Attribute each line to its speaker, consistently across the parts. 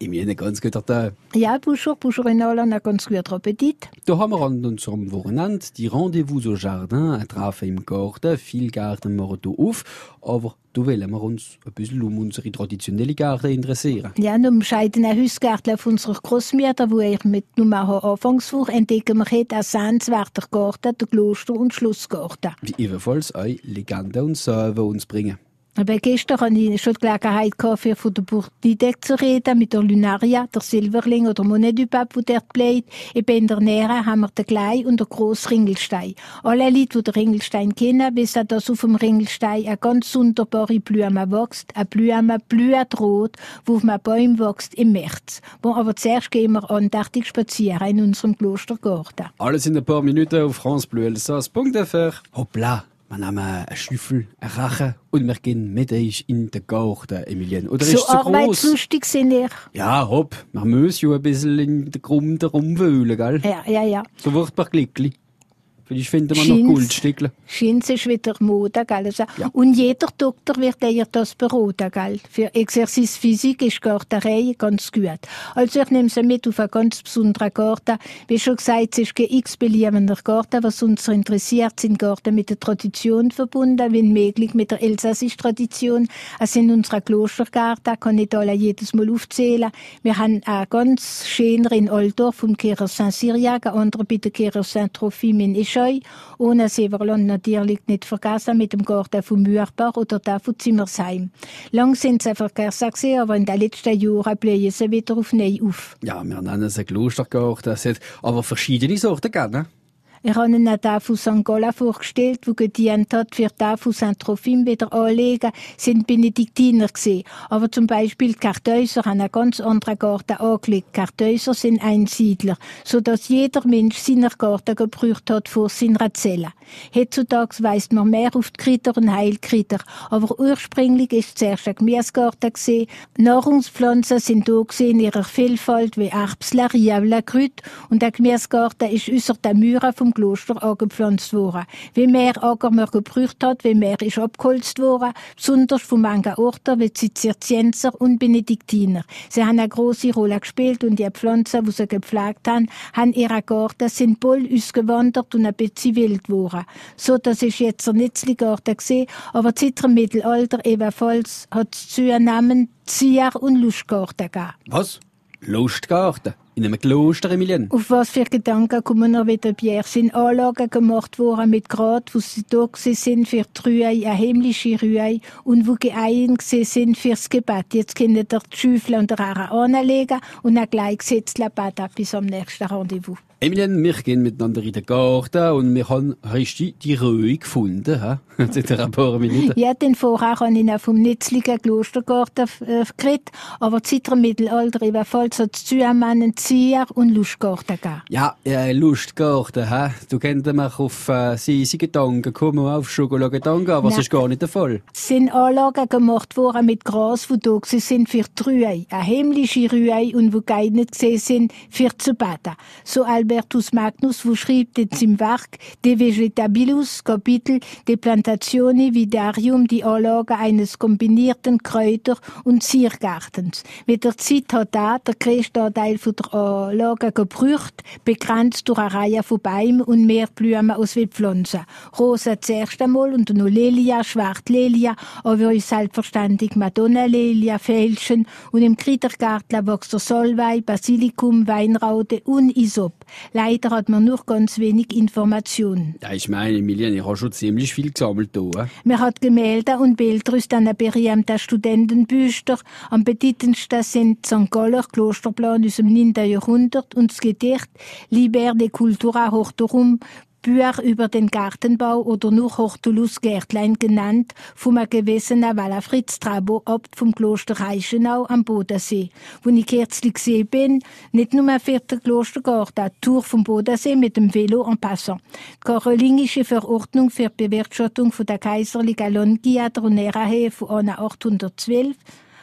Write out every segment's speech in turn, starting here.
Speaker 1: Emilien, einen ganz guten Tag.
Speaker 2: Ja, bonjour in allen, einen ganz guten Appetit.
Speaker 1: Da haben wir an unserem Wochenende die Rendezvous au Jardin, ein Treffen im Garten. Viele Gärten machen hier auf, aber da wollen wir uns ein bisschen um unsere traditionelle Gärten interessieren.
Speaker 2: Ja, und im scheidenen Hausgarten auf unserer Großmutter, wo ich mit Nummer Anfangswoche entdecken wir heute einen sehenswerten Garten, den Kloster- und Schlossgarten.
Speaker 1: Wie ebenfalls auch Legenden und Sagen uns bringen.
Speaker 2: Aber gestern hatte ich schon die Gelegenheit gehabt, von der Bourdidec zu reden, mit der Lunaria, der Silberling oder Monet du Pape, der dort bleibt. Eben in der Nähe haben wir den kleinen und den grossen Ringelstein. Alle Leute, die den Ringelstein kennen, wissen, dass auf dem Ringelstein eine ganz wunderbare Blume wächst. Eine Blume blüht rot, die auf einem Baum wächst im März. Aber zuerst gehen wir andächtig spazieren in unserem Klostergarten.
Speaker 1: Alles in ein paar Minuten auf France Bleu Elsass.fr. Hoppla! Wir nehmen einen Schüffel, einen Rachen und wir gehen mit euch in den Garten, Emilien. Oder ist
Speaker 2: so
Speaker 1: es zu gross?
Speaker 2: Arbeitslustig sind ihr.
Speaker 1: Ja, hopp. Wir müssen ja ein bisschen in der Grund rumwühlen, gell?
Speaker 2: Ja.
Speaker 1: So wird man glücklich. Vielleicht finden wir noch Goldstückchen.
Speaker 2: Schins ist wieder Mode, gell? Also,
Speaker 1: Ja.
Speaker 2: Und jeder Doktor wird dir das beraten, gell? Für Exercice Physik ist Gartenei ganz gut. Also ich nehme sie mit auf einen ganz besonderen Garten. Wie schon gesagt, es ist kein x-beliebender Garten. Was uns interessiert, sind Gärten mit der Tradition verbunden, wenn möglich mit der elsassischen Tradition. Also in unserer Klostergarten kann ich alle jedes Mal aufzählen. Wir haben einen ganz schöner in Altdorf vom Kehrer Saint-Cyriac, ein anderer bei der Kehrer Saint-Trophime in Ischeu. Ohne Severland natürlich nicht vergessen mit dem Garten von Mürbach oder der von Zimmersheim. Lang sind sie verkehrsachse, aber in den letzten Jahren blühen sie wieder auf neu auf.
Speaker 1: Ja, wir nennen es einen Klostergarten. Es hat aber verschiedene Sorten gegeben.
Speaker 2: Ich habe Ihnen den von St. Gallen vorgestellt, der gedient hat, für den von Saint-Trophime wieder anlegen, sind Benediktiner gewesen. Aber zum Beispiel die Kartäuser haben einen ganz anderen Garten angelegt. Die Kartäuser sind Einsiedler, sodass jeder Mensch seinen Garten gebraucht hat vor seiner Zelle. Heutzutage weist man mehr auf die Kräuter und Heilkräuter, aber ursprünglich ist es zuerst ein Gemüsegarten gewesen. Nahrungspflanzen sind da in ihrer Vielfalt wie Erbsen, Riebeln, Kräuter, und der Gemüsegarten ist äußer der Mauern vom Kloster angepflanzt worden. Wie mehr Acker man gebraucht hat, wie mehr ist abgeholzt worden, besonders von manchen Orten wie die Zisterzienser und Benediktiner. Sie haben eine grosse Rolle gespielt und die Pflanzen, die sie gepflegt haben ihre Garten sind voll ausgewandert und ein bisschen wild geworden. So, das ist jetzt der Nitzli-Garten gewesen, aber seit dem Mittelalter ebenfalls hat es zunehmend Zier- und Lustgarten gegeben.
Speaker 1: Was? Lustgarten? In einem Kloster, Emilien?
Speaker 2: Auf was für Gedanken kommen wir wieder, Pierre? Sind Anlagen gemacht worden mit Grat, wo sie da sind für die Rühe, eine himmlische Rühe, und wo geeignet sind fürs Gebet. Jetzt können ihr die Schüffel und Rare anlegen und dann gleich gesetzt beten bis am nächsten Rendezvous.
Speaker 1: Emilien, wir gehen miteinander in den Garten und wir haben richtig die Röhe gefunden, ha? Seit ein paar Minuten.
Speaker 2: Ja, den vorher habe ich auch vom Nitzligen Klostergarten geredet, aber seit dem Mittelalter ebenfalls hat es zusammen Zier- und Lustgarten gegeben.
Speaker 1: Ja, Lustgarten, ha? Du könntest mich auf sie Gedanken kommen, auf Schokoladengedanken, aber
Speaker 2: Nein.
Speaker 1: das ist gar nicht der Fall.
Speaker 2: Es sind Anlagen gemacht worden mit Gras, die da sind für die Rühe, eine himmlische Rühe, und die geeignet sind für zu beten. So Albertus Magnus, wo schreibt in seinem Werk De Vegetabilus Kapitel de Plantatione Vidarium die Anlage eines kombinierten Kräuter- und Ziergartens. Mit der Zeit hat der größte Anteil von der Anlage gebraucht, begrenzt durch eine Reihe von Bäumen und mehr Blumen aus wie Pflanzen. Rosa zuerst einmal und noch Lilia, Schwarzlilia, aber auch selbstverständlich Madonna-Lilia, Veilchen, und im Kräutergarten wächst der Salbei, Basilikum, Weinraude und Isop. Leider hat man nur ganz wenig Informationen.
Speaker 1: Ja, ich meine, Emilien, ich habe schon ziemlich viel gesammelt hier.
Speaker 2: Man hat Gemälde und Bilder aus den berühmten Studentenbüchern. Am bedeutendsten sind St. Galler Klosterplan aus dem 9. Jahrhundert und das Gedicht Liber de Cultura Hortorum, Bücher über den Gartenbau oder nur Hortulus Gärtlein genannt, vom gewesenen Walla Fritz Trabo, Abt vom Kloster Reichenau am Bodensee. Wo ich kürzlich gesehen bin, nicht nur für den Klostergarten, die Tour vom Bodensee mit dem Velo en passant. Die karolingische Verordnung für die Bewirtschaftung von der kaiserlichen Longia der Nerahe von 812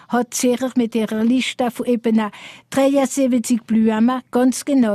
Speaker 2: hat sicher mit ihrer Liste von eben 73 Blumen, ganz genau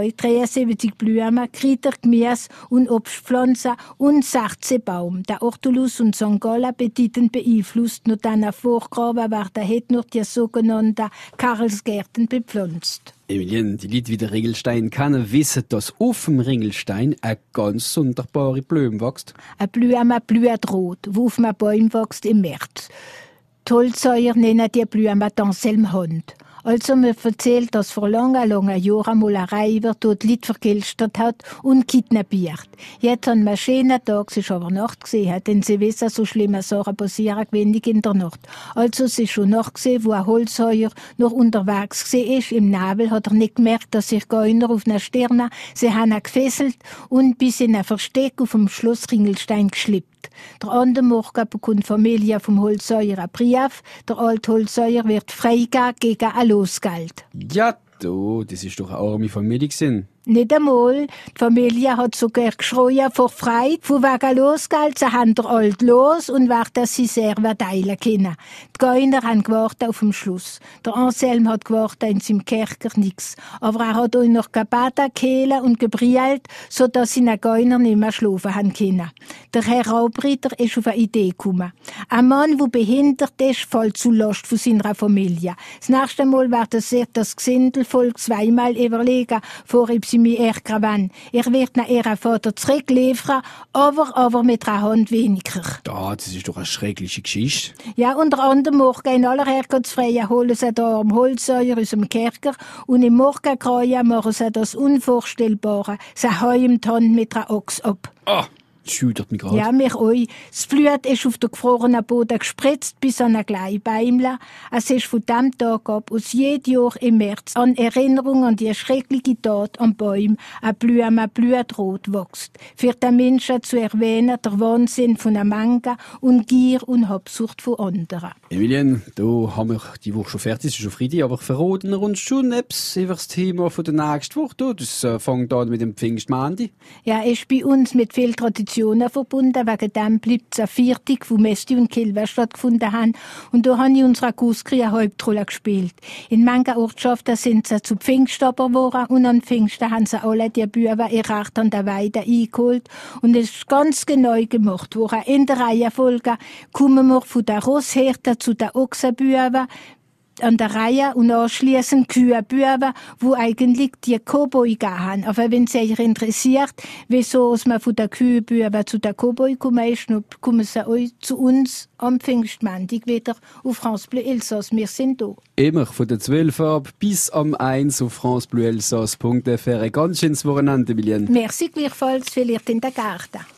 Speaker 2: 73 Blumen, Kräuter, Gemüse und Obstpflanzen und 16 Baum. Der Ortolus und St. Gallen bedeutend beeinflusst, nur dann vorgraben werden, hat nur die sogenannten Karlsgärten bepflanzt.
Speaker 1: Emilien, die Leute wie der Ringelstein kennen, wissen, dass auf dem Ringelstein eine ganz sonderbare Blume wächst.
Speaker 2: Eine Blume blüht rot, die auf einem Baum wächst im März. Die Holzheuer nennen die Blume Anselmhand. Also man erzählt, dass vor langen Jahren einmal eine Reihe dort Leute vergilstert hat und kidnappiert. Jetzt an einem schönen Tag, es ist aber Nacht gesehen, denn sie wissen, so schlimme Sachen passieren wenig in der Nacht. Also es ist schon Nacht gesehen, wo ein Holzheuer noch unterwegs gesehen ist. Im Nebel hat er nicht gemerkt, dass sich Geuner auf einer Stirne, sie haben ihn gefesselt und bis in ein Versteck auf dem Schloss Ringelstein geschleppt. Der andere Morgen bekommt die Familie vom Holzheuer einen Brief. Der alte Holzheuer wird freigegeben gegen ein Losgeld.
Speaker 1: Ja, das ist doch eine arme Familie gewesen.
Speaker 2: Nicht einmal. Die Familie hat sogar geschrien vor Freude. Von wegen Losgeld, sie haben der alt los und werden sie sehr teilen können. Die Geuner haben gewartet auf den Schluss. Der Anselm hat gewartet in seinem Kerker nichts. Aber er hat auch noch gebeten, geheilt und gebrüllt, sodass seine Geuner nicht mehr schlafen haben können. Der Herr Raubritter ist auf eine Idee gekommen. Ein Mann, der behindert ist, fällt zu Last von seiner Familie. Das nächste Mal wird sich das Gesindelvolk zweimal überlegen, vor sie mich ärgern. Ich werde ihren Vater zurückliefern, aber mit einer Hand weniger.
Speaker 1: Das ist doch eine schreckliche Geschichte.
Speaker 2: Ja, unter anderem morgen in aller Herrgottsfreie holen sie da am Holzheuer aus dem Kerker und im Morgenkreuz machen sie das Unvorstellbare. Sie hauen die Hand mit einer Ochs ab.
Speaker 1: Das schüttert mich gerade.
Speaker 2: Ja, mich auch. Das Blut ist auf den gefrorenen Boden gespritzt bis an ein kleines Bäumchen. Es ist von diesem Tag ab, aus jedem Jahr im März, an Erinnerung an die schreckliche Tat am Baum, eine Blume blutrot wächst. Für den Menschen zu erwähnen, der Wahnsinn von einer Menge und Gier und Habsucht von anderen.
Speaker 1: Emilien, da haben wir die Woche schon fertig, es ist schon Freitag, aber verraten wir uns schon etwas über das Thema von der nächsten Woche. Das fängt an mit dem Pfingstmontag.
Speaker 2: Ja, ist bei uns mit viel Traditionen verbunden. Wegen dem bleibt es ein Viertag, wo Mesti und Kilwe stattgefunden haben. Und da habe ich unserer Kuskri eine Hauptrolle gespielt. In manchen Ortschaften sind sie zu Pfingststapper geworden und an Pfingsten haben sie alle die Büben ihr Recht an der Weide eingeholt. Und es ist ganz genau gemacht worden. In der Reihenfolge kommen wir von der Rosshirte zu den Ochsenbüben an der Reihe und anschliessend Kühe-Büben, wo eigentlich die Cowboy gehen. Aber wenn es euch interessiert, wieso man von der Kühe-Büben zu der Cowboy kommen ist, dann kommen sie auch zu uns am Pfingstmontag wieder auf France Bleu Elsass. Wir sind da.
Speaker 1: Immer von der 12 ab bis am 1 auf francebleuelsass.fr. Ganz schönes Wochenende, Emilien.
Speaker 2: Merci gleichfalls, vielleicht in der Garten.